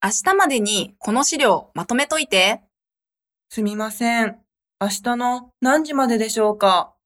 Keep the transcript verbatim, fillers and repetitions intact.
明日までにこの資料まとめといて。 すみません。明日の何時まででしょうか？